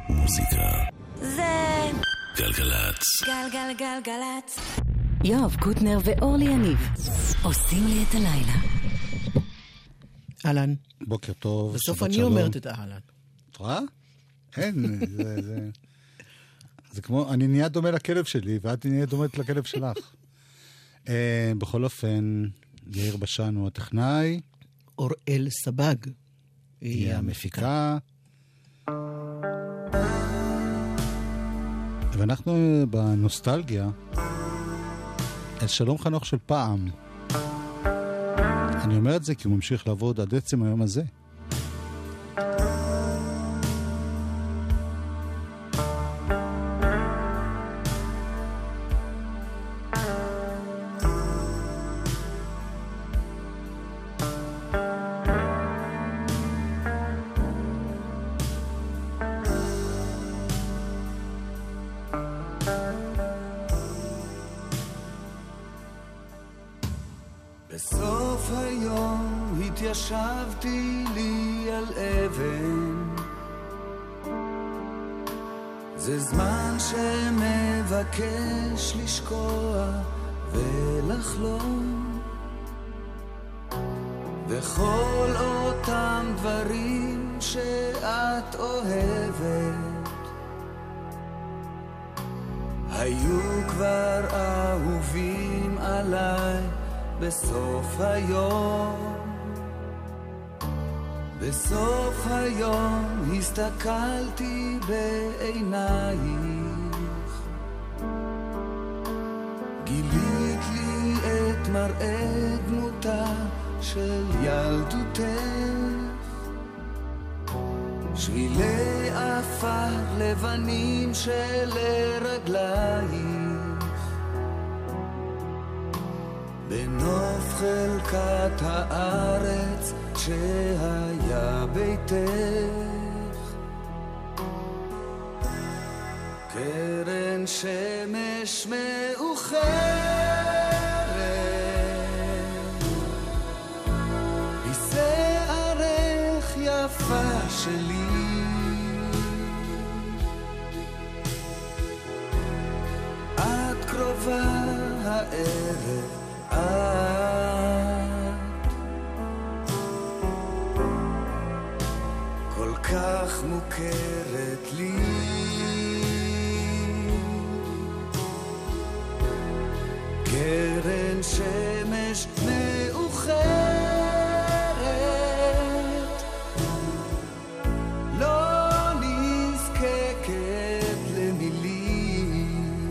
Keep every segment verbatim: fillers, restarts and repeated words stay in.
מוזיקה זה גלגלצ. גלגלגלגלצ. יואב קוטנר ואורלי יניב עושים לי את הלילה. אהלן. בוקר טוב. בסוף אני אומרת את אהלן. את רואה? אין, זה, זה... זה כמו, אני נהיה דומה לכלב שלי, ואת נהיה דומת לכלב שלך. אה, בכל אופן, יאיר בשן הוא הטכנאי. אוראל סבג. היא המפיקה. ואנחנו בנוסטלגיה, אל שלום חנוך של פעם. אני אומר את זה כי הוא ממשיך לעבוד עד עצם היום הזה. בסוף היום התיישבתי לי על אבן, זה זמן שמבקש לשקוע ולחלום, וכל אותם דברים שאת אוהבת היו כבר אהובים עליי. בסוף היום, בסוף היום הסתכלתי בעינייך, גילית לי את מראה דמותה של ילדותך, שבילי עפר לבנים של רגלייך, בנוף חלקת הארץ שהיה ביתך, קרן שמש מאוחרת, בשערך יפה שלי, את קרובה הערב, את כל כך מוכרת לי, קרן שמש מאוחרת, לא נזקקת למילים,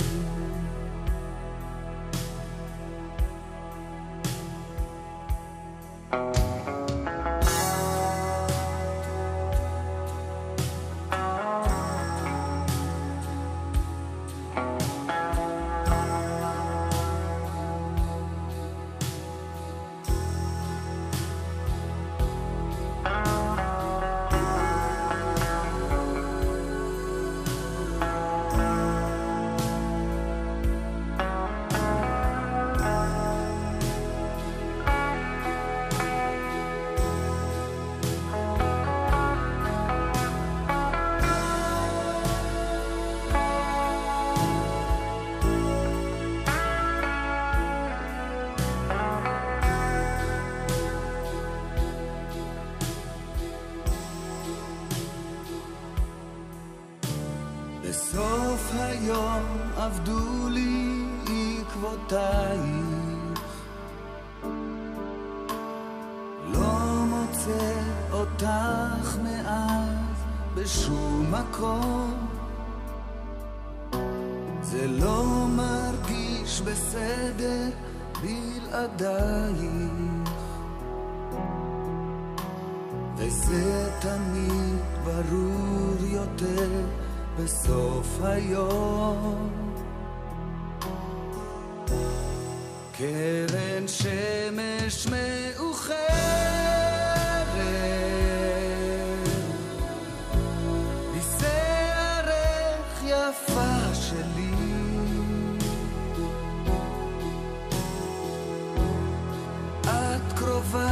בסוף היום עבדו לי עקבותייך, לא מוצא אותך מאז בשום מקום, זה לא מרגיש בסדר בלעדייך, וזה תמיד ברור יותר בסוף היום, קרן שמש מאוחרת, בשערך יפה שלי, את קרובה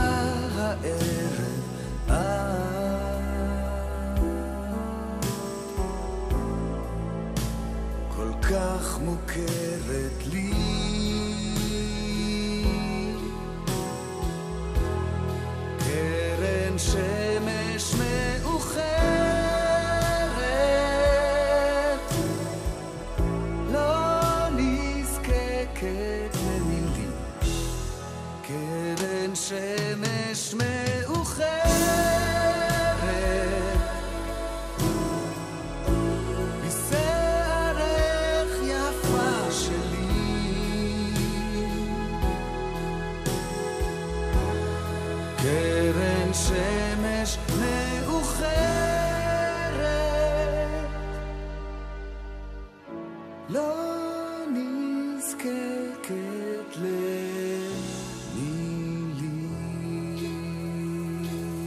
הערב, את כך מוכרת לי. קרן שמש מאוחרת, לא נזקקת למילים. קרן שמש מאוחרת, קרן שמש מאוחרת, לא נזקקת למילים.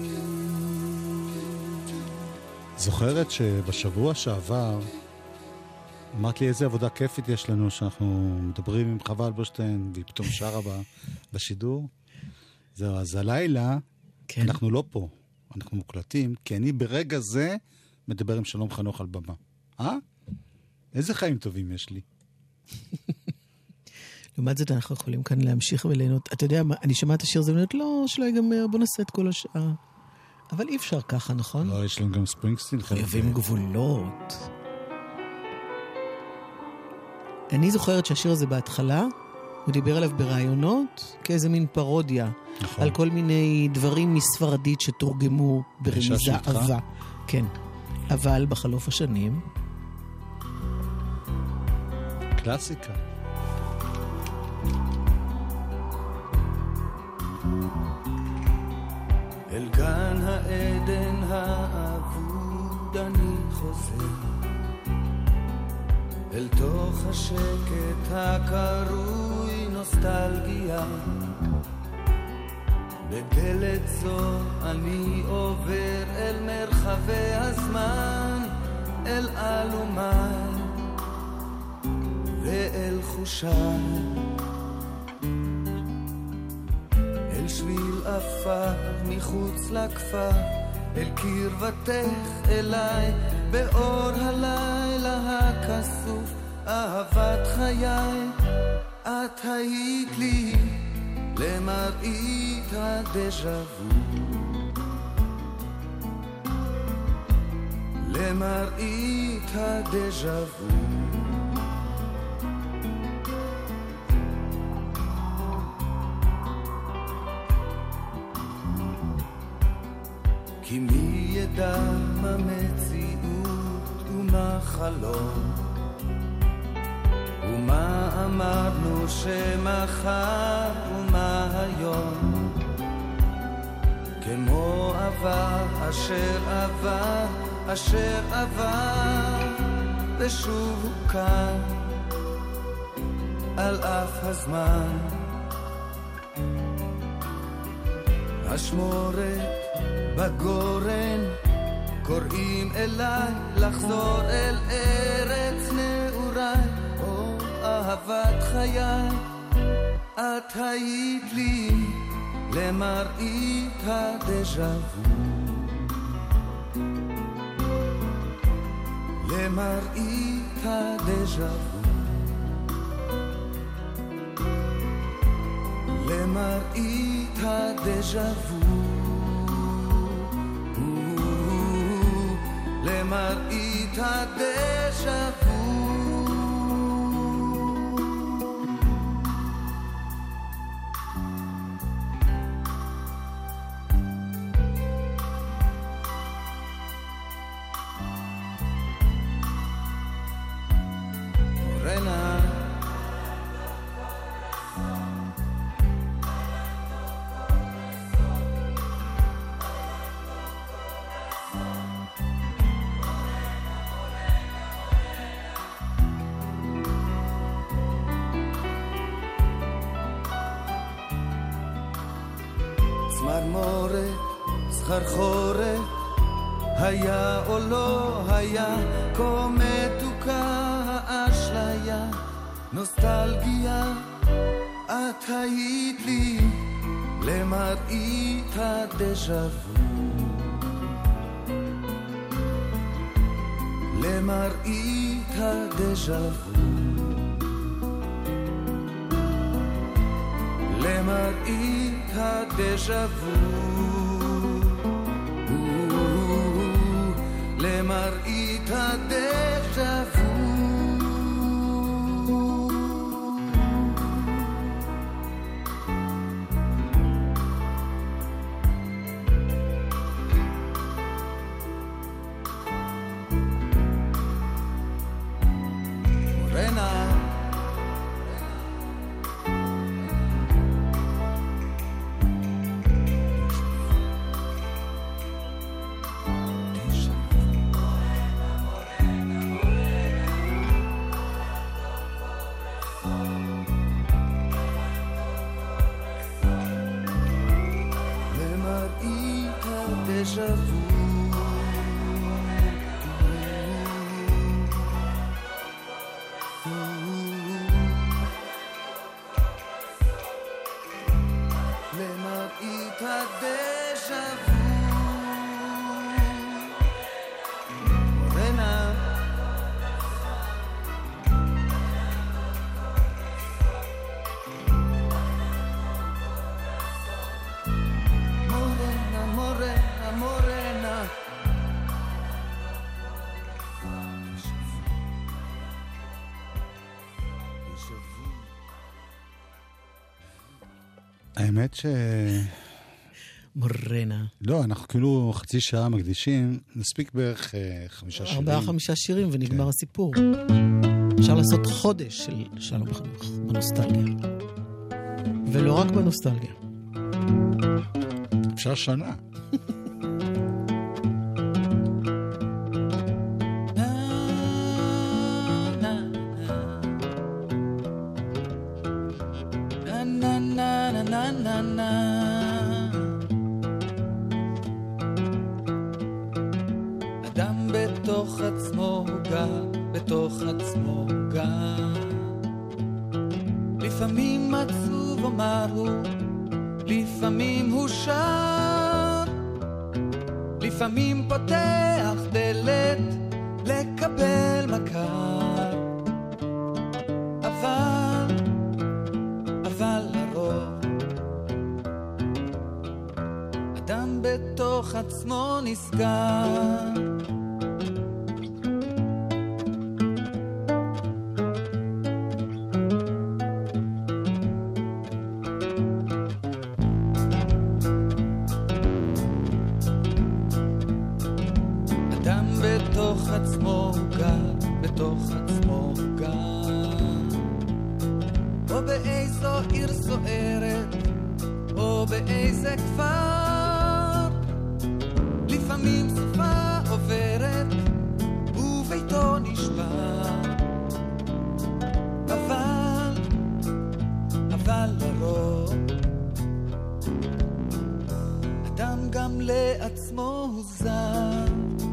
זוכרת שבשבוע שעבר אמרת לי איזה עבודה כיפית יש לנו שאנחנו מדברים עם חווה אלברשטיין והיא פתאום שרה בה בשידור? זהו, אז הלילה כן. אנחנו לא פה, אנחנו מוקלטים, כי אני ברגע זה מדבר עם שלום חנוך על במה. אה? איזה חיים טובים יש לי. לעומת זאת אנחנו יכולים כאן להמשיך וליהנות. אתה יודע מה, אני שמעת השיר הזה וליהנות, לא, שלא ייגמר, בוא נעשה את כל השעה. אבל אי אפשר ככה, נכון? לא, יש לנו גם ספרינגסטין. חייבים גבולות. אני זוכרת שהשיר הזה בהתחלה, הוא דיבר עליו ברעיונות, כאיזה מין פרודיה, נכון. על כל מיני דברים מספרדית שתורגמו ברמיזה אהבה. כן. אבל בחלוף השנים... קלאסיקה. אל גן העדן האבוד אני חוזר, אל תוך השקט הקרוי נוסטלגיה. בדלת זו אני עובר אל מרחבי הזמן, אל אלומי ואל חושיי, אל שביל אפר מחוץ לכפר, אל קרבתך אליי באור הלילה הכסוף. אהבת חיי, את היית לי למראית הדז'ה וו, למראית הדז'ה וו. כי מי ידע מה מציאות ומה חלום, ומה אמרנו שמחר ומה היום. כמו עבר אשר עבר אשר עבר, ושוב הוא כאן על אף הזמן. השמורת בגורן קוראים אליי לחזור אל ארץ נעוריי. או אהבת חיי, את היית לי למראית הדז'ה וו, למראית הדז'ה וו, למראית הדז'ה וו, למראית הדז'ה וו. מורנה צמרמורת, סחרחורת, היה או לא היה, כה מתוקה האשליה, נוסטלגיה, את היית לי למראית הדז'ה וו, למראית הדז'ה וו. למראית הדז'ה וו, למראית הדז'ה וו. האמת ש... מורנה. לא, אנחנו כאילו חצי שעה מקדישים, נספיק בערך אה, חמישה שירים. ארבעה חמישה שירים ונגמר כן. הסיפור. אפשר לעשות חודש של שלום חנוך בנוסטלגיה. ולא רק בנוסטלגיה. אפשר שנה. אדם בתוך עצמו גר, בתוך עצמו גר. לפעמים עצוב אומר הוא, לפעמים הוא שר, לפעמים פותח דלת לקבל מכר. אבל, אבל לרוב אדם בתוך עצמו נסגר. אדם בתוך עצמו גר, בתוך עצמו גר. או באיזו עיר סוערת, או באיזה כפר. לפעמים סופה עוברת, וביתו נשבר. אבל, אבל לרוב, אדם גם לעצמו הוא זר.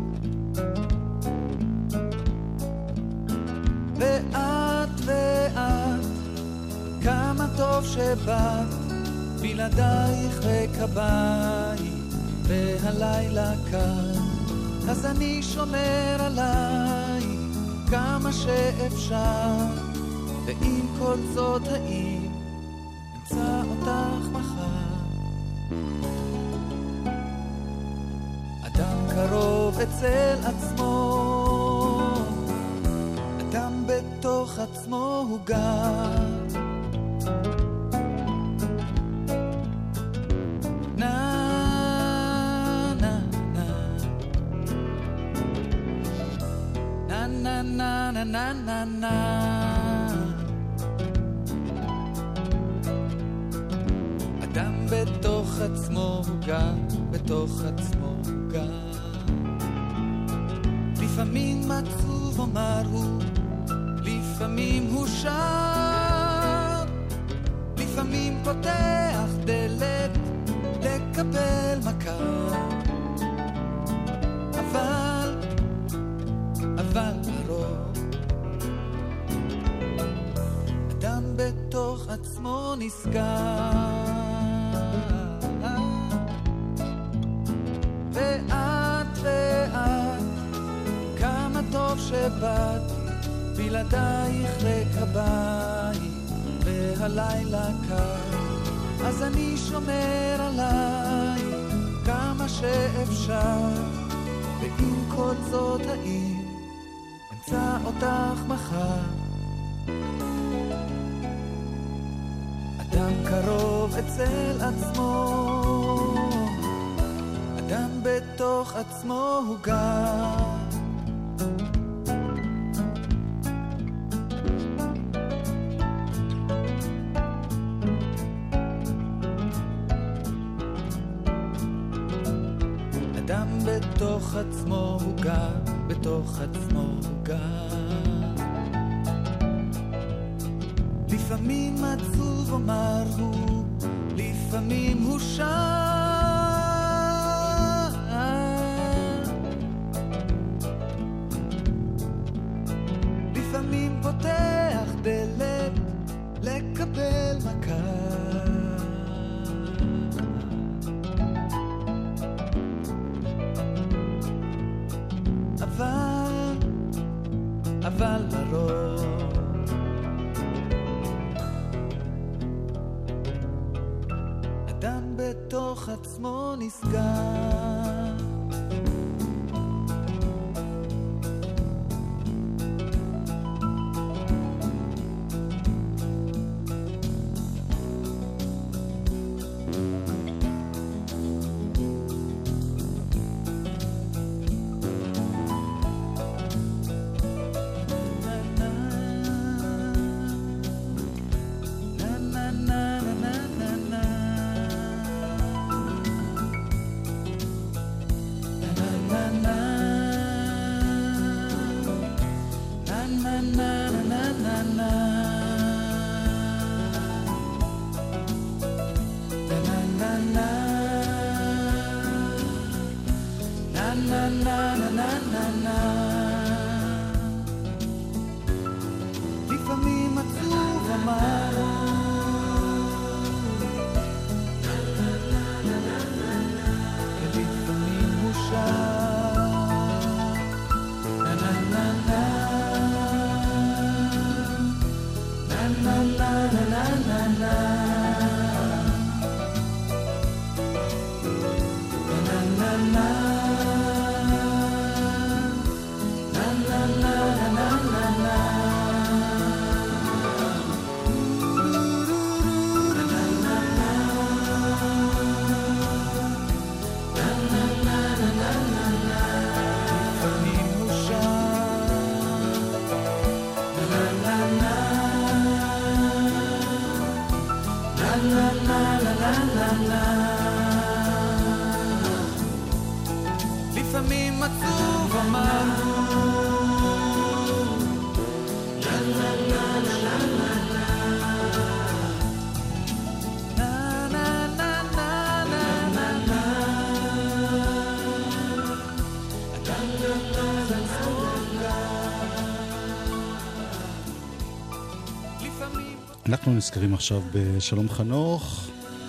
ואת ואת, כמה טוב שבאת, בלעדייך וקבייך, והלילה קר, אז אני שומר עלייך כמה שאפשר, ועם כל זאת האם אמצא אותך מחר. אדם קרוב אצל עצמו, אדם בתוך עצמו הוא גר. נא נא נא נא נא נא נא נא נא. אדם בתוך עצמו הוא גר, בתוך עצמו הוא גר. לפעמים עצוב אומר הוא, לפעמים הוא שר, לפעמים פותח דלת לקבל מכר. אבל, אבל לרוב, אדם בתוך עצמו נסגר. ואת ואת, כמה טוב שבאת, בלעדייך לקבייך, והלילה קר, אז אני שומר עליי כמה שאפשר, ועם כל זאת האם אמצא אותך מחר. אדם קרוב אצל עצמו, אדם בתוך עצמו הוא גר. אדם בתוך עצמו הוא גר, בתוך עצמו הוא גר. לפעמים עצוב אומר הוא, לפעמים הוא שר. לפעמים פותח דלת לקבל מכה. אבל, אבל לרוב אדם בתוך עצמו נסגר. לפעמים עצוב אמר ולפעמים הוא שר. נה נה נה נה נה נה נה נה נה לפעמים עצוב אמר לה לה לה לה לה לה נה נה נה נה נה נה אדם בתוך עצמו לפעמים. אנחנו נזכרים עכשיו בשלום חנוך.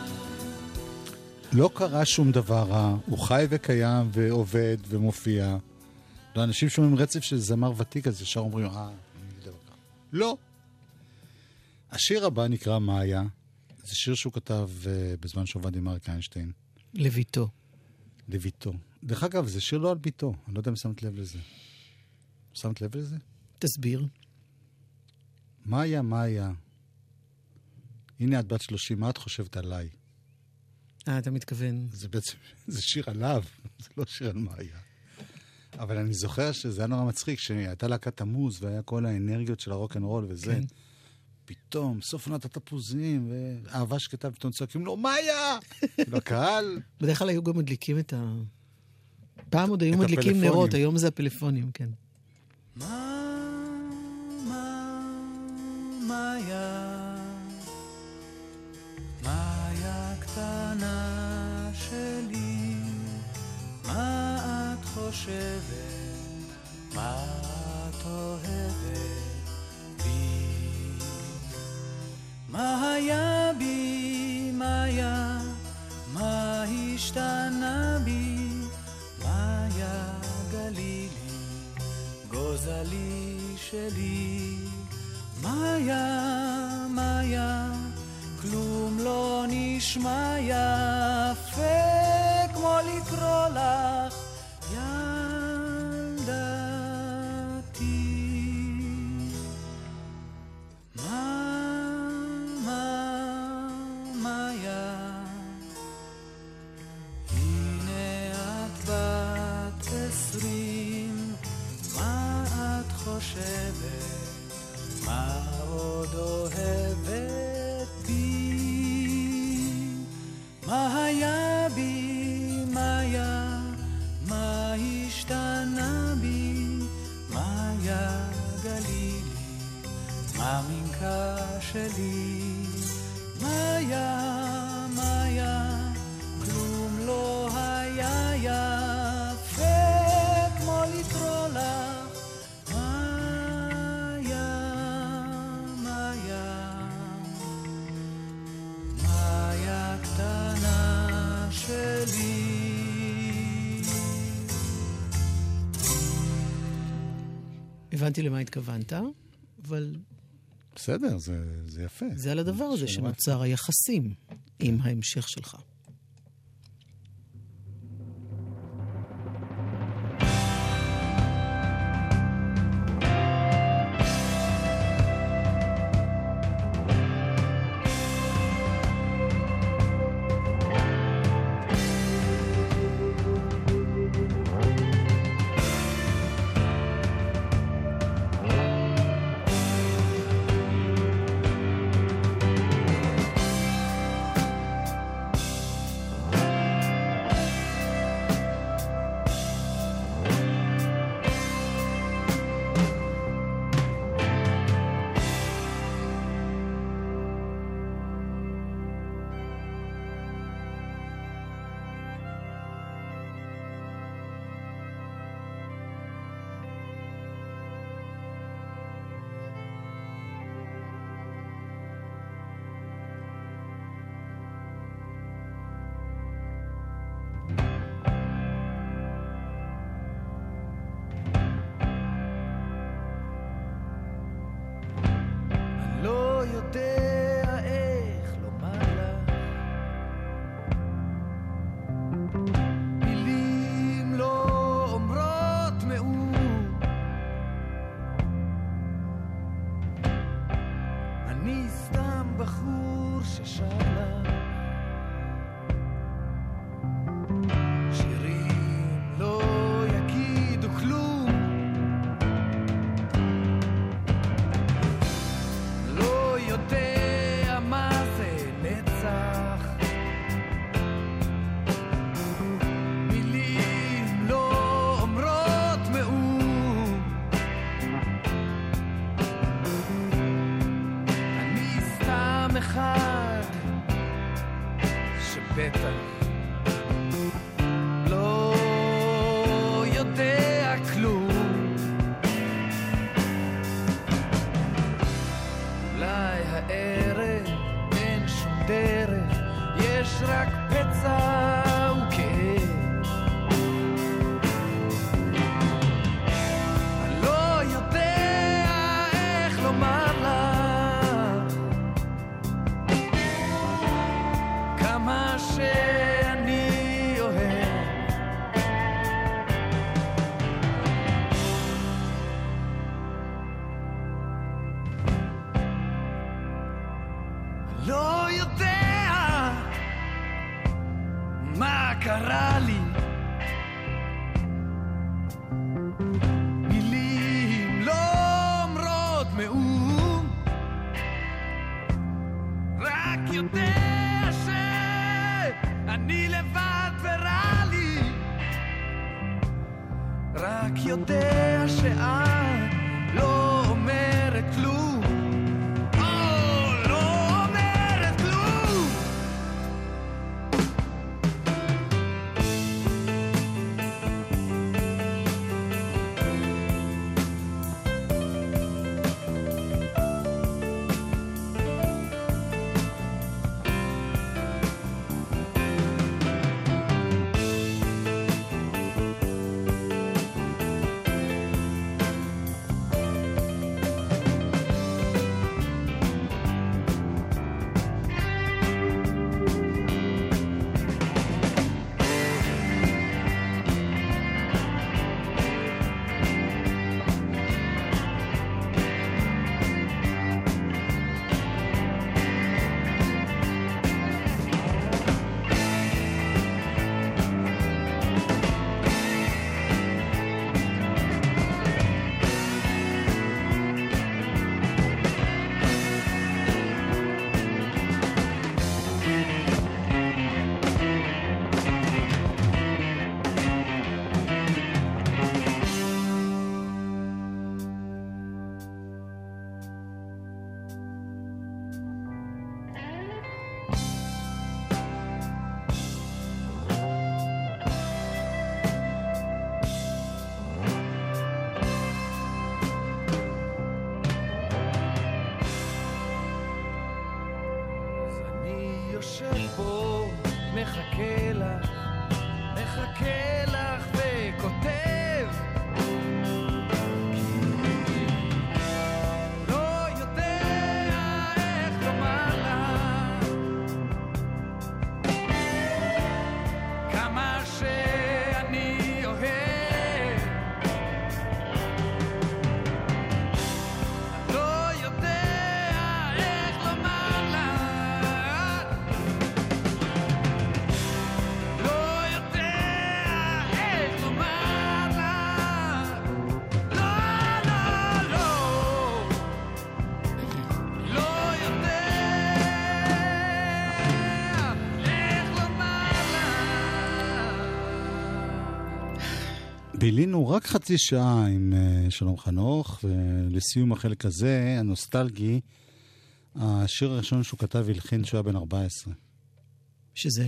לא קרה שום דבר רע, הוא חי וקיים ועובד ומופיע. לאנשים שומעים רצף של זמר ותיק, אז ישר אומרים, אה, לא. השיר הבא נקרא מאיה. זה שיר שהוא כתב uh, בזמן שעובד עם אריק איינשטיין. לביתו. לביתו. דרך אגב, זה שיר לא על ביתו. אני לא יודע אם שמת לב לזה. שמת לב לזה? תסביר. מאיה, מאיה. הנה את בת שלושים, מה את חושבת עליי? אה, אתה מתכוון. זה בעצם, זה שיר עליו, זה לא שיר על מאיה. אבל אני זוכר שזה היה נורא מצחיק, שהייתה להקת המוז, והיה כל האנרגיות של הרוק-אנד-רול וזה. כן. פתאום, סוף עונת התפוזים, ואהבה שקטה, ופתאום צועקים לו, מאיה! בקהל. בדרך כלל היו גם מדליקים את ה... פעם עוד היו מדליקים נרות, היום זה הפלאפונים, כן. מה, מה, מאיה, מאיה קטנה שלי, מה את חושבת, מה את אוהבת בי, מה היה בי, מאיה, מה השתנה בי, מאיה גלילי, גוזלי שלי, מאיה, מאיה, כלום לא נשמע יפה כמו לקרוא לך ילדתי. מה, מה, מאיה, הנה את בת עשרים, מה את חושבת, מה עוד אוהבת בי, מה היה בי, מאיה, מה השתנה בי, מאיה גלילי, מה מנקה שלי, מאיה, מאיה, כלום לא היה יפה כמו לקרוא לך מאיה, מאיה, מאיה קטנה שלי. הבנתי למה התכוונת, אבל בסדר, זה, זה יפה. זה על הדבר הזה שנוצר היחסים עם ההמשך שלך. מחכה לך, מחכה לך וכותב, לא יודע איך לומר לך כמה שאני אוהב, לא יודע איך לומר לך, לא יודע איך לומר לך, לא, לא, לא, לא יודע איך לומר לך. בילינו רק חצי שעה עם uh, שלום חנוך, ולסיום החלק הזה, הנוסטלגי, השיר הראשון שהוא כתב והלחין שהוא היה בן ארבע עשרה. שזה?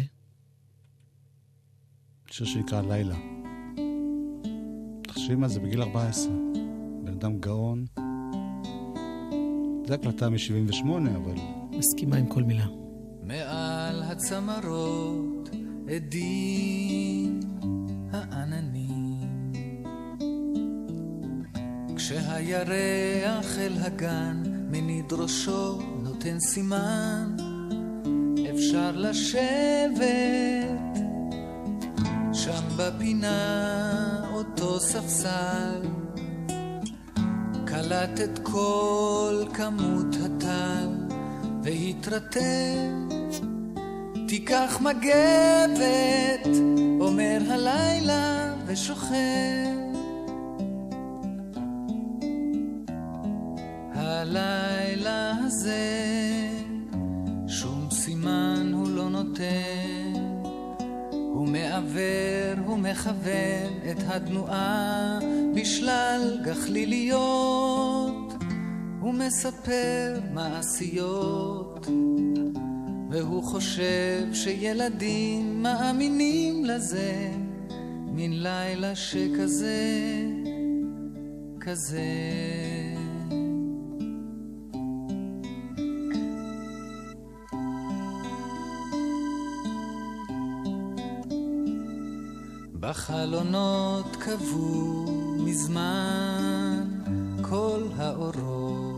שיר שנקרא לילה. תחשבי מה זה בגיל ארבע עשרה. בן אדם גאון. זה הקלטה מ-שבעים ושמונה, אבל... מסכימה עם כל מילה. מעל הצמרות עדים העננים, כשהירח אל הגן מניד ראשו נותן סימן, אפשר לשבת שם בפינה אותו ספסל, קלט את כל כמות הטל והתרטב, תיקח מגבת, אומר הלילה ושוכב. הלילה הזה שום סימן הוא לא נותן, הוא מעבר, הוא מכוון את התנועה בשלל גחליליות, הוא מספר מעשיות, והוא חושב שילדים מאמינים לזה, מן לילה שכזה, כזה. בחלונות קבעו מזמן כל האורות,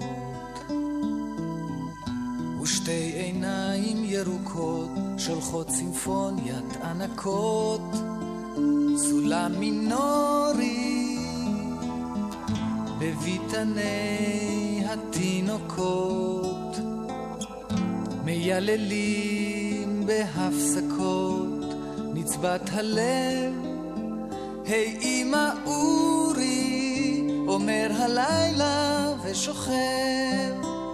ושתי עיניים ירוקות שולחות סימפוניית ענקות, סולם מינורי בביתני התינוקות, מייללים בהפסקות נצבת הלב, היי אמא אורי, אומר הלילה ושוכב.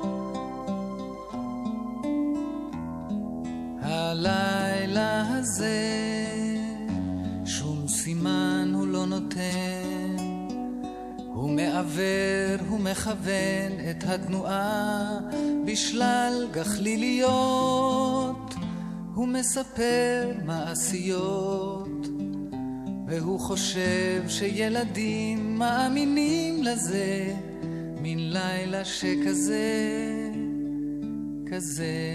הלילה הזה שום סימן הוא לא נותן, הוא מעבר, הוא מכוון את התנועה בשלל גחליליות, הוא מספר מעשיות, והוא חושב שילדים מאמינים לזה, מן לילה שכזה, כזה.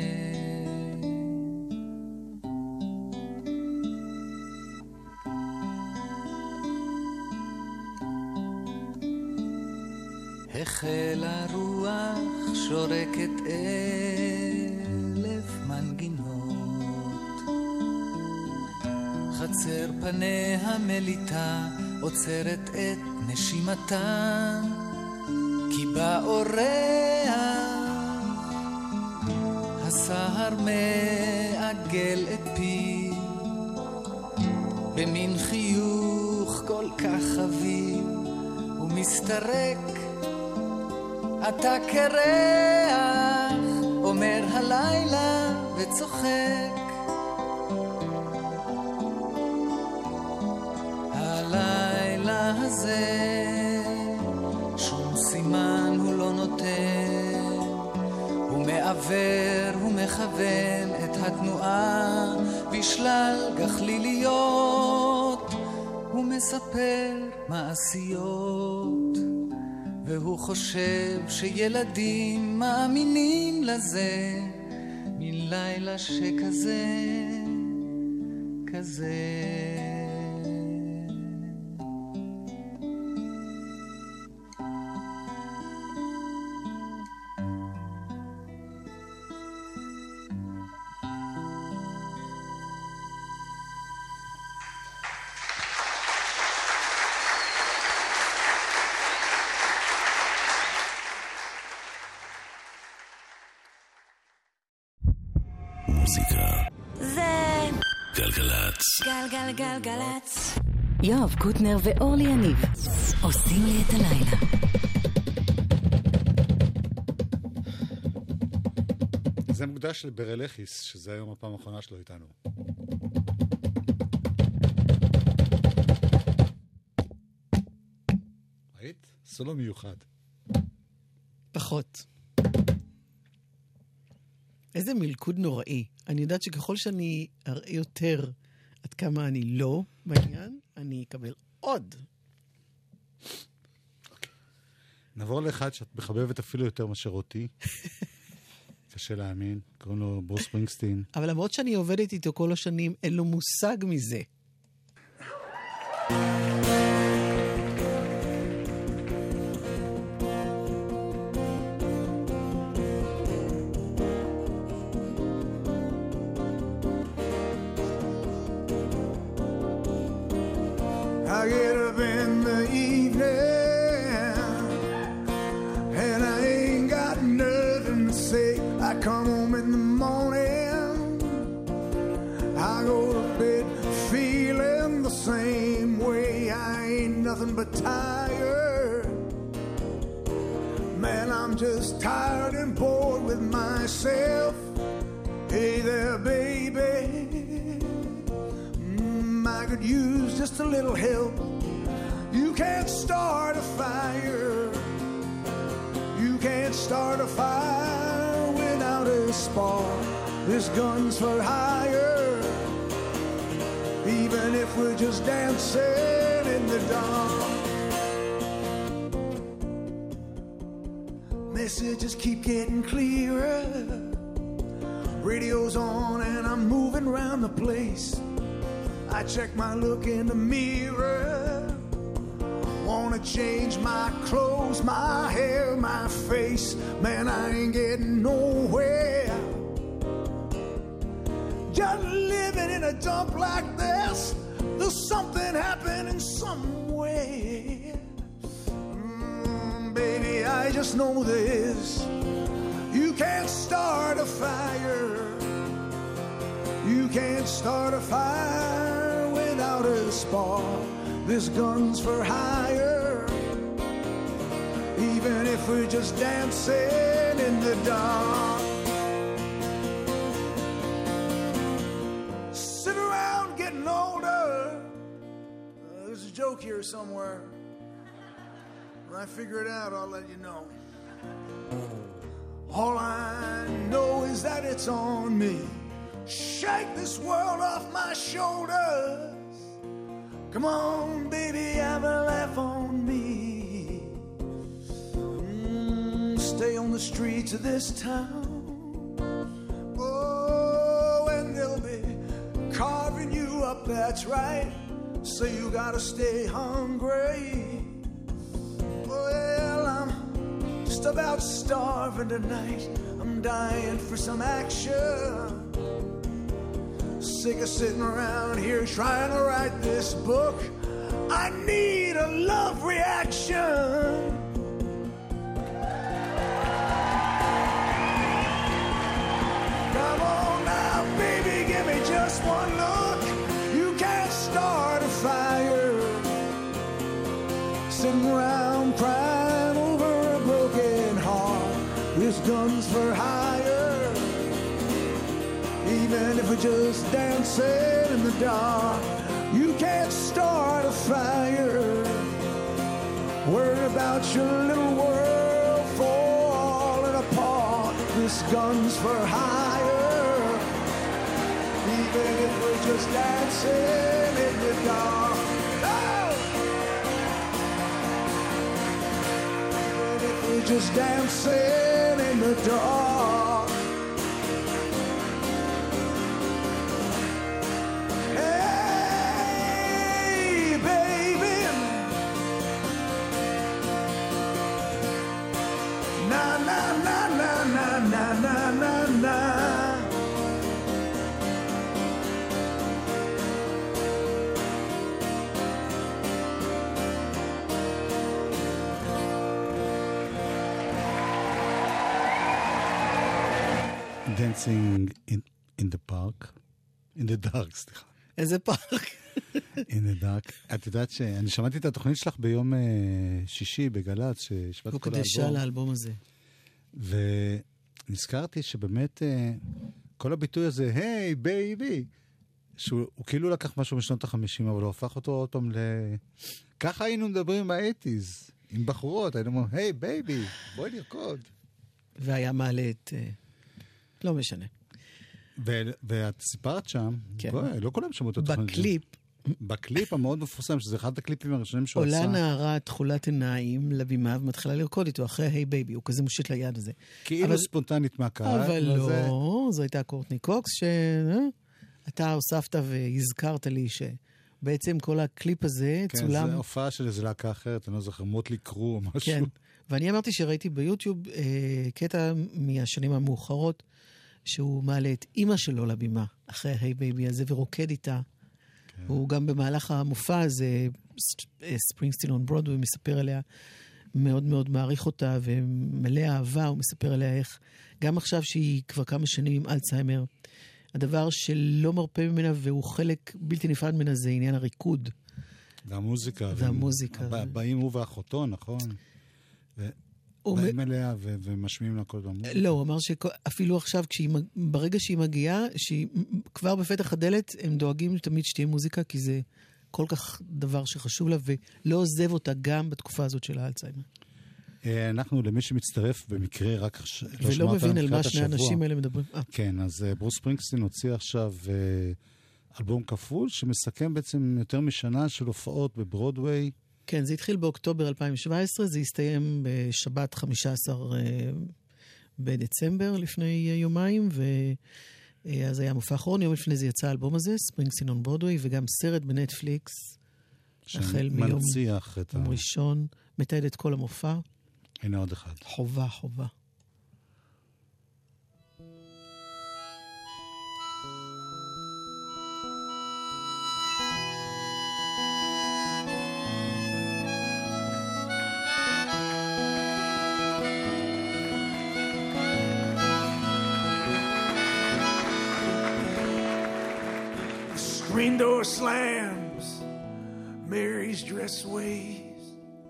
החל הרוח שורקת אלף מנגינות, חצר פניה מליטה עוצרת את נשימתה, כי באורח הסהר מעגל את פי במין חיוך כל כך חביב, ומסתרק אתה קרח, אומר הלילה וצוחק. הלילה הזה שום סימן הוא לא נותן, הוא מעבר, הוא מכוון את התנועה בשלל גחליליות, הוא מספר מעשיות, והוא חושב שילדים מאמינים לזה, מן לילה שכזה, כזה. מוזיקה זה גלגלצ. גלגלגלגלצ. יואב קוטנר ואורלי יניב עושים לי את הלילה. זה מוקדש לברלכיס, שזה היום הפעם האחרונה שלו איתנו. ראית? סולו מיוחד. פחות. איזה מלכוד נוראי. אני יודעת שככל שאני אראה יותר עד כמה אני לא בעניין, אני אקבל עוד. נעבור לאחד שאת מחבבת אפילו יותר מאשר אותי. קשה להאמין. קוראים לו ברוס ספרינגסטין. אבל למרות שאני עובדת איתו כל השנים, אין לו מושג מזה. I get up in the evening and I ain't got nothing to say. I come home in the morning, I go to bed feeling the same way. I ain't nothing but tired. Man, I'm just tired and bored with myself. Hey there, baby, I could use just a little help. You can't start a fire. You can't start a fire without a spark. This gun's for hire. Even if we're just dancing in the dark. Messages keep getting clearer. Radio's on and I'm moving around the place. I check my look in the mirror. Wanna change my clothes, my hair, my face. Man, I ain't getting nowhere. Just living in a dump like this. There's something happening somewhere. Mm, baby, I just know this. You can't start a fire. You can't start a fire without a spark. This gun's for hire. Even if we're just dancing in the dark. Sit around getting older. Uh, there's a joke here somewhere. When I figure it out, I'll let you know. All I know is that it's on me. Shake this world off my shoulders. Come on, baby, have a laugh on me. Mm, stay on the streets of this town. Oh, and they'll be carving you up, that's right. So you gotta stay hungry. Well, I'm just about starving tonight. I'm dying for some action. Sick of sitting around here trying to write this book. I need a love reaction. Come on now, baby, give me just one look. You can't start a fire sitting around crying over a broken heart. This gun's for hire. Even if we're just dancing in the dark. You can't start a fire. Worry about your little world falling apart. This gun's for hire. Even if we're just dancing in the dark. Oh! Even if we're just dancing in the dark. Hey! na, na, na, na, na. Dancing in, in the park. In the dark, סליחה. איזה פארק? In the dark. את יודעת שאני שמעתי את התוכנית שלך ביום uh, שישי בגל"צ, שהשמעת כל הוקדשה האלבום. לאלבום הזה. ונזכרתי שבאמת uh, כל הביטוי הזה, היי, בייבי, שהוא כאילו לקח משהו משנות החמישים, אבל הוא הפך אותו עוד פעם ל... ככה היינו מדברים ב-שמונים, עם בחורות, היינו אומרים, היי, בייבי, בואי נרקוד. והיה מעלה את... לא משנה. ו- ואת סיפרת שם, כן. בואי, לא כולם שמעו את התוכנית. בקליפ, בקליפ המאוד מפורסם, שזה אחד הקליפים הראשונים שהוא עשה. עולה נערה תכולת עיניים לבימה ומתחילה לרקוד איתו אחרי היי בייבי, הוא כזה מושיט ליד הזה. כאילו אבל... ספונטנית מהקהל. אבל לא, זה... זו הייתה קורטני קוקס, שאתה הוספת והזכרת לי שבעצם כל הקליפ הזה כן, צולם... כן, זו הופעה של איזה להקה אחרת, אני לא זוכר, מוטלי קרו או משהו. כן, ואני אמרתי שראיתי ביוטיוב אה, קטע מהשנים המאוחרות, שהוא מעלה את אימא שלו לבימה, אחרי היי בייבי הזה, ורוקד איתה. כן. הוא גם במהלך המופע הזה, ספרינגסטין און ברודווי, מספר עליה, מאוד מאוד מעריך אותה, ומלא אהבה, הוא מספר עליה איך, גם עכשיו שהיא כבר כמה שנים עם אלצהיימר, הדבר שלא מרפא ממנה, והוא חלק בלתי נפרד ממנה, זה עניין הריקוד. והמוזיקה. והמוזיקה. והם, באים הוא ואחותו, נכון? ו... באים אליה ו- ומשמיעים לה כל דבר. לא, הוא אמר שאפילו עכשיו, ברגע שהיא מגיעה, שהיא כבר בפתח הדלת, הם דואגים תמיד שתהיה מוזיקה, כי זה כל כך דבר שחשוב לה, ולא עוזב אותה גם בתקופה הזאת של האלצהיימר. אנחנו, למי שמצטרף במקרה, רק ולא מבין על מה שני האנשים האלה מדברים. כן, אז ברוס ספרינגסטין הוציא עכשיו אלבום כפול, שמסכם בעצם יותר משנה של הופעות בברודוויי, כן, זה התחיל באוקטובר אלפיים שבע עשרה, זה הסתיים בשבת חמישה עשר בדצמבר לפני יומיים, ואז היה מופע אחרון, יום לפני זה יצא האלבום הזה, ספרינגסטין און ברודווי, וגם סרט בנטפליקס, החל מיום ראשון, מתעד את כל המופע. הנה עוד אחד. חובה, חובה. Screen door slams, Mary's dress sways.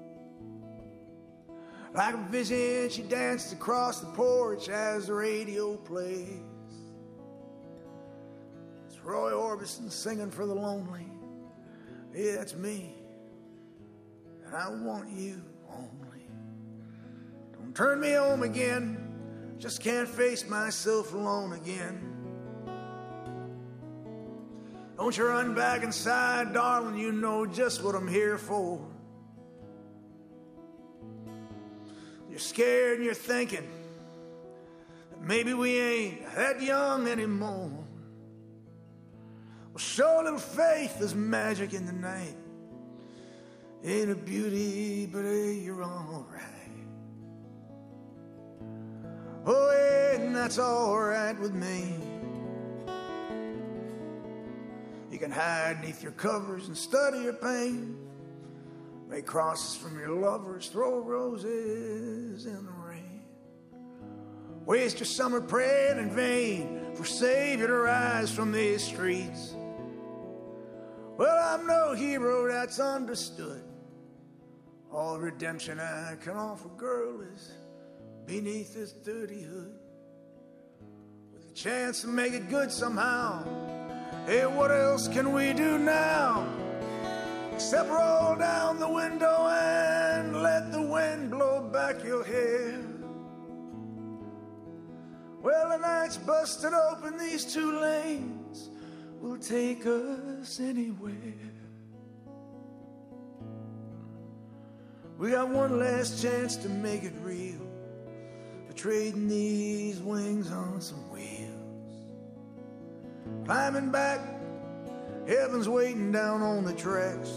Like a vision, she danced across the porch as the radio plays. It's Roy Orbison singing for the lonely. Yeah, that's me. And I want you only. Don't turn me home again. Just can't face myself alone again. Don't you run back inside, darling, you know just what I'm here for. You're scared and you're thinking that maybe we ain't that young anymore. Well, show a little faith, there's magic in the night. Ain't a beauty, but hey, you're alright. Oh, yeah, and that's alright with me. You can hide beneath your covers and study your pain. Make crosses from your lovers, throw roses in the rain. Waste your summer praying in vain for Savior to rise from these streets. Well, I'm no hero, that's understood. All redemption I can offer, girl, is beneath this dirty hood. With a chance to make it good somehow. Hey, what else can we do now? Except roll down the window and let the wind blow back your hair. Well, the night's busted open, these two lanes will take us anywhere. We got one last chance to make it real, for trading these wings on some wheels. Climbing back, heaven's waiting down on the tracks.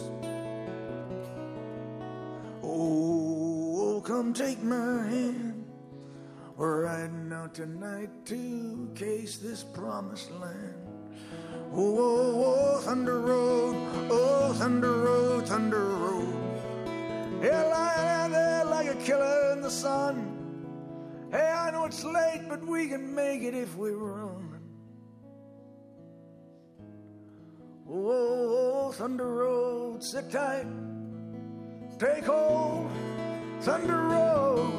Oh, oh, come take my hand. We're riding out tonight to case this promised land. Oh, oh, oh, Thunder Road, oh, Thunder Road, Thunder Road. Yeah, lying there like a killer in the sun. Hey, I know it's late, but we can make it if we run. Oh, oh, oh, Thunder Road, sit tight, take hold, Thunder Road.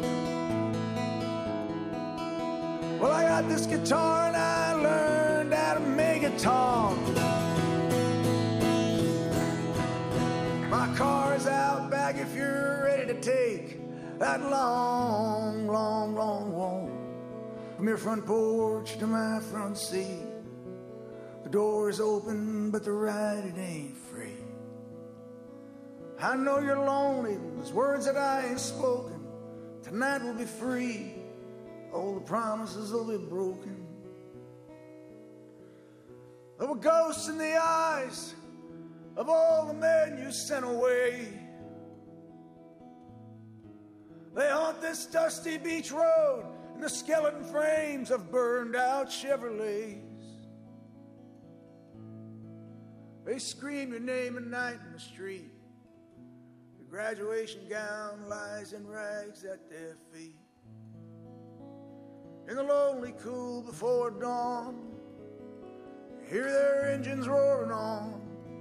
Well, I got this guitar and I learned how to make it talk. My car's out back if you're ready to take that long, long, long walk from your front porch to my front seat. The door is open, but the ride, it ain't free. I know you're lonely, those words that I ain't spoken tonight will be free. All the promises will be broken. There were ghosts in the eyes of all the men you sent away. They haunt this dusty beach road in the skeleton frames of burned out Chevrolets. They scream your name at night in the street. Your graduation gown lies in rags at their feet. In the lonely cool before dawn, you hear their engines roaring on.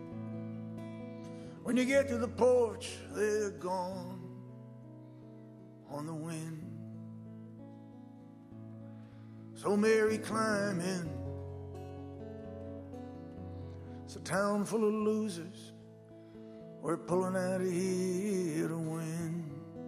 When you get to the porch, they're gone on the wind. So Mary, climb in. It's a town full of losers. We're pulling out of here to win.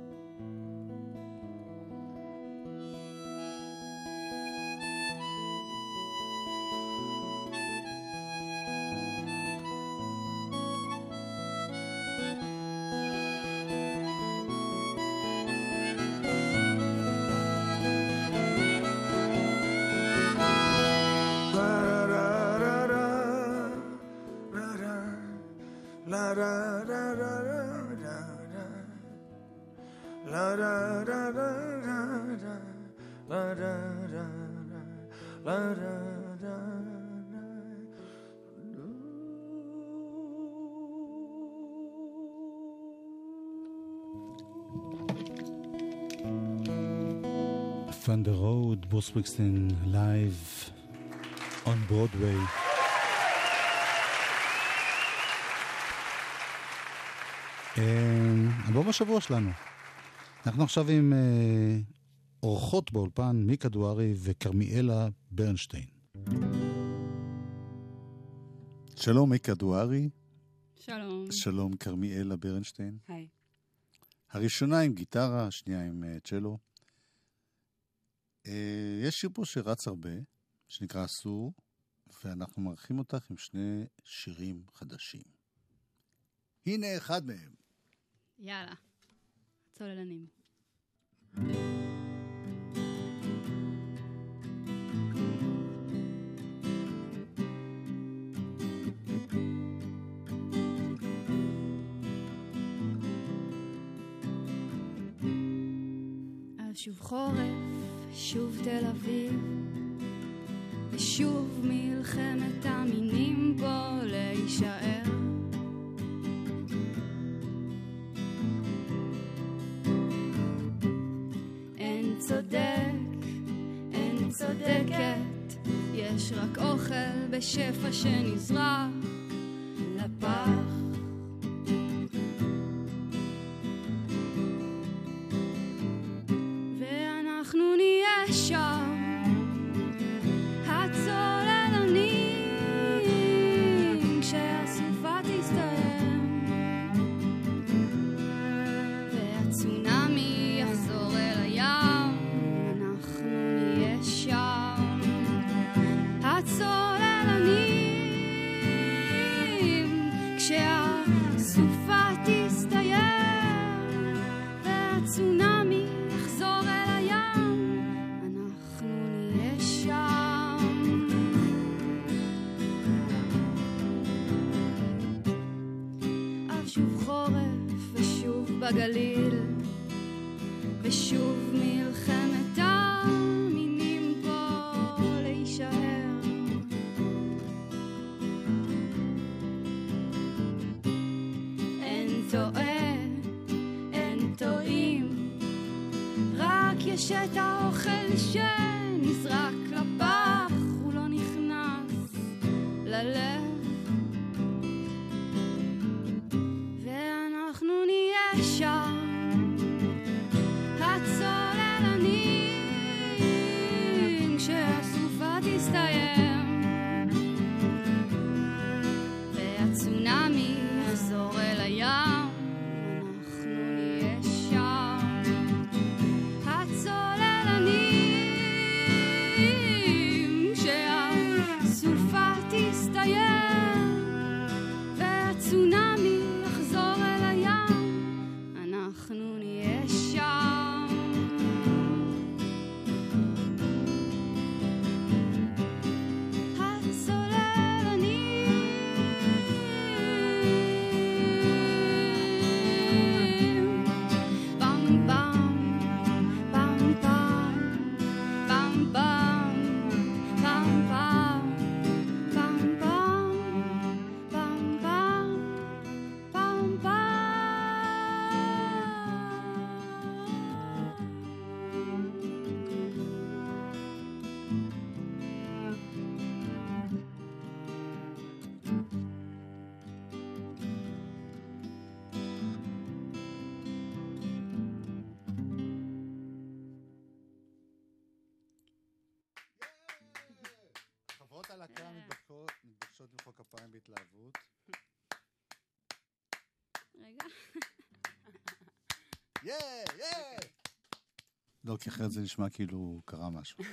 Thunder Road, Bruce Springsteen, live on Broadway. אלבום השבוע שלנו. אנחנו עכשיו עם אורחות באולפן, מיקה דוארי וקרמיאלה ברנשטיין. שלום מיקה דוארי. שלום. שלום קרמיאלה ברנשטיין. היי. הראשונה עם גיטרה, השנייה עם צ'לו. יש שיר פה שרץ הרבה, שנקרא אסור, ואנחנו מארחים אותך עם שני שירים חדשים. הנה אחד מהם. יאללה, צוללנים. אז שוב חורף, שוב תל אביב, ושוב מלחמת המינים פה להישאר. אין צודק, אין צודקת, יש רק אוכל בשפע שנזרק לפח. ואנחנו נהיה שם, הצוללנים, כשהסופה תסתיים והצונאמי יחזור אל הים. אנחנו נהיה שם, הצוללנים, כשהסופה תסתיים והצונאמי יחזור אל הים. אנחנו נהיה שם. אז שוב חורף ושוב בגליל, ושוב מלחמת העם. יש את האוכל שנזרק לפח, הוא לא נכנס ללב. ואנחנו נהיה שם, הצוללנים, כשהסופה תסתיים והצונאמי יחזור אל הים. אנחנו נהיה שם, הצוללנים, כשהסופה תסתיים והצונאמי יחזור אל הים. אנחנו נהיה שם. הצוללנים, פם פם, פם פם, פם פם, פם פם, פם פם, פם פם, פם פם. חברות הלהקה מתבקשות מתבקשות למחוא כפיים בהתלהבות. רגע. יא! יא! לא, כי אחרת זה נשמע כאילו קרה משהו.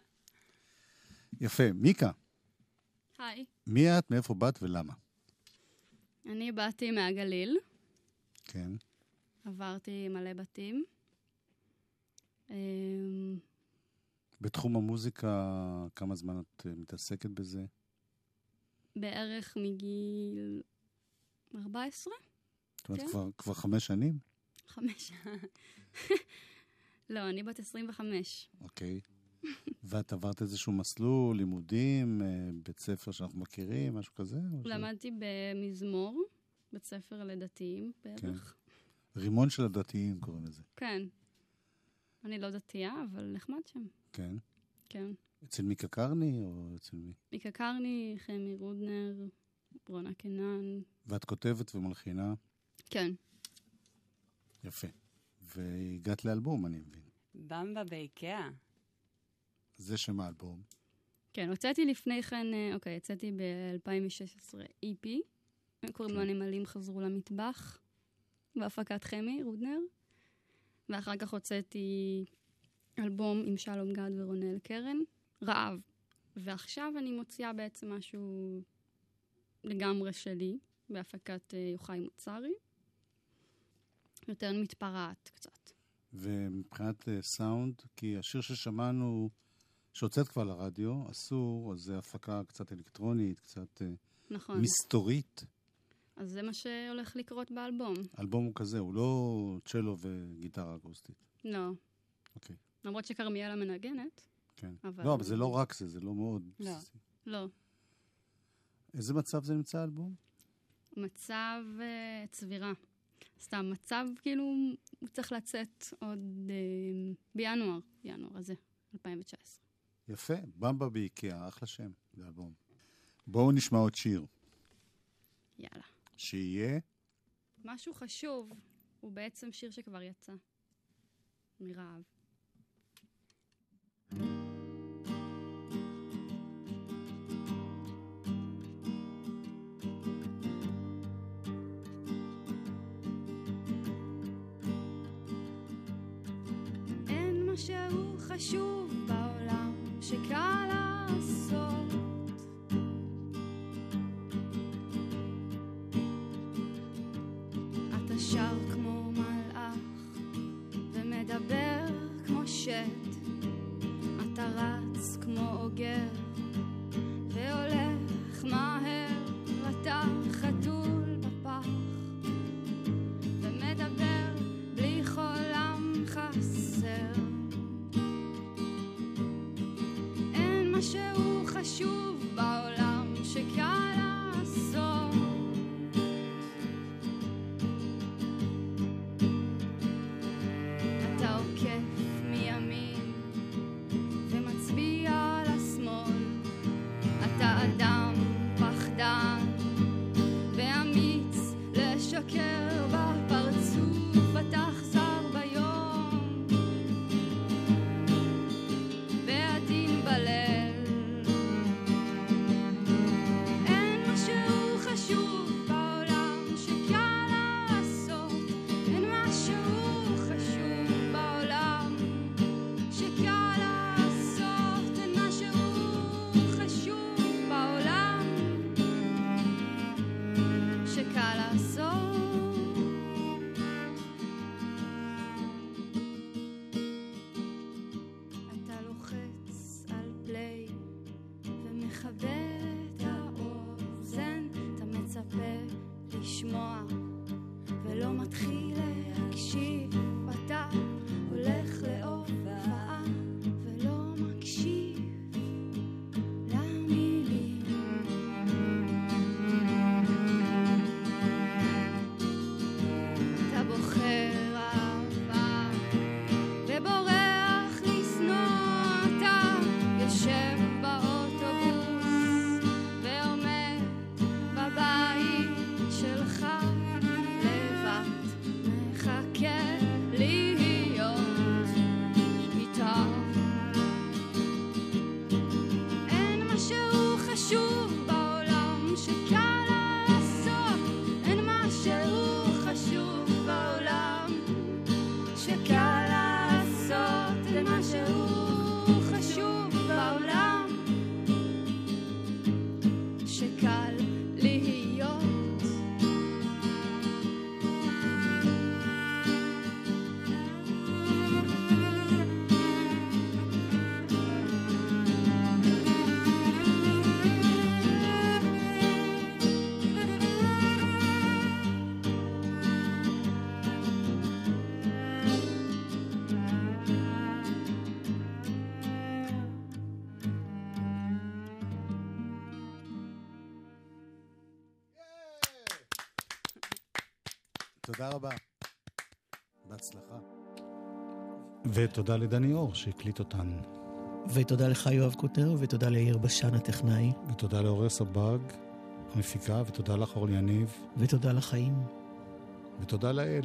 יפה. מיקה, היי, מי את, מאיפה באת ולמה? אני באתי מהגליל, כן. עברתי מלא בתים. אמ, בתחום המוזיקה, כמה זמן את אה, מתעסקת בזה? בערך מגיל ארבע עשרה? זאת אומרת, כן. כבר, כבר חמש שנים? חמש. לא, אני בת עשרים וחמש. אוקיי. ואת עברת איזשהו מסלול, לימודים, אה, בית ספר שאנחנו מכירים, משהו כזה? או ש- למדתי במזמור, בית ספר לדתיים בערך. רימון של הדתיים קוראים לזה. כן. אני לא דתייה, אבל נחמד שם. כן. כן. אצל מיקה קרני או אצל מי? מיקה קרני, חמי רודנר, ברונה קנן. ואת כותבת ומלחינה. כן. יפה. והגעת לאלבום, אני מבין. במבה באיקאה. זה שם האלבום. כן, הוצאתי לפני כן, אה, אוקיי, יצאתי ב-אלפיים ושש עשרה אי פי. קוראים לו הנמלים חזרו למטבח, בהפקת חמי רודנר. ואחר כך הוצאתי אלבום עם שלום גד ורונל קרן, רעב. ועכשיו אני מוציאה בעצם משהו לגמרי שלי, בהפקת אה, יוחאי מוצרי. יותר מתפרעת קצת. ומבחינת אה, סאונד, כי השיר ששמענו, שהוצאת כבר לרדיו, אסור, אז זה הפקה קצת אלקטרונית, קצת אה, נכון. מסתורית. אז זה מה שהולך לקרות באלבום. האלבום הוא כזה, הוא לא צ'לו וגיטרה אקוסטית. לא. אוקיי, למרות שכרמיאלה מנגנת. כן. אבל- לא, אבל זה לא רק זה, זה לא מאוד... לא. בסיסי. לא. איזה מצב זה נמצא האלבום? מצב uh, צבירה. סתם מצב כאילו הוא צריך לצאת עוד uh, בינואר, בינואר הזה, אלפיים תשע עשרה. יפה, במבה באיקאה, אחלה שם, זה אלבום. בואו נשמע עוד שיר. יאללה. שיהיה... משהו חשוב, הוא בעצם שיר שכבר יצא. מרעב. אין משהו חשוב בעולם שקל לעשות. אתה שר כמו מלאך ומדבר כמו שט. אתה רץ כמו אוגר והולך מהר. אתה חתול בפח ומדבר בלי חולם חסר. אין משהו חשוב בעולם שקל לעשות. אתה עוקף מימין תודה רבה. בהצלחה. ותודה לדני אור שהקליט אותן. ותודה לך יואב קוטנר, ותודה ליאיר בשן הטכנאי. ותודה לאוריה סבג, המפיקה, ותודה לך אורלי יניב. ותודה לחיים. ותודה לאל.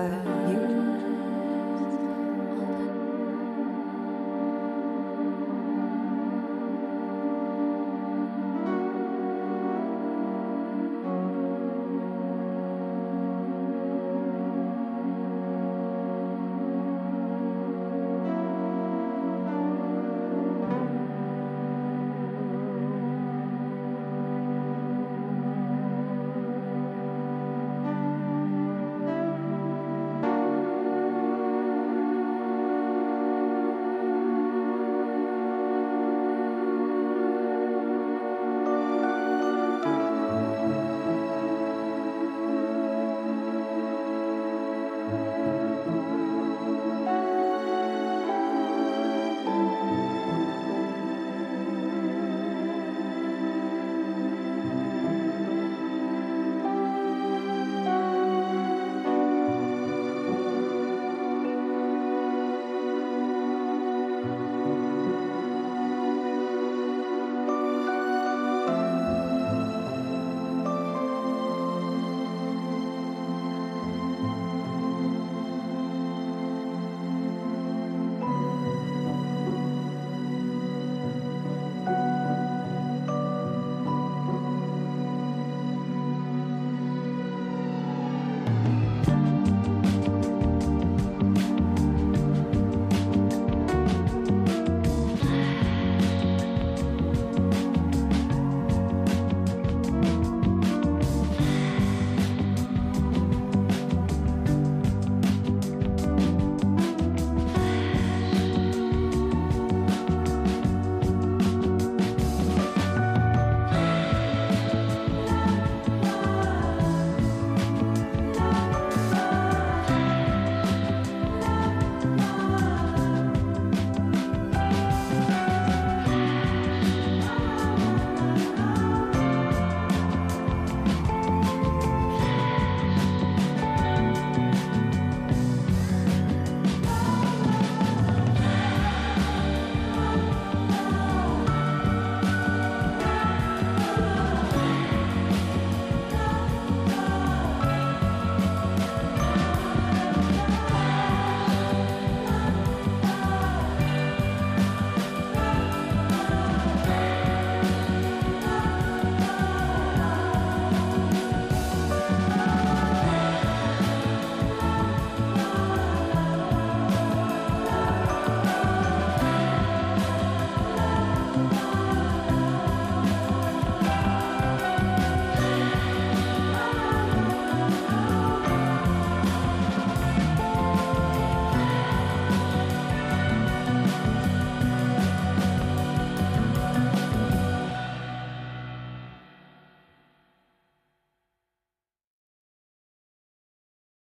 side.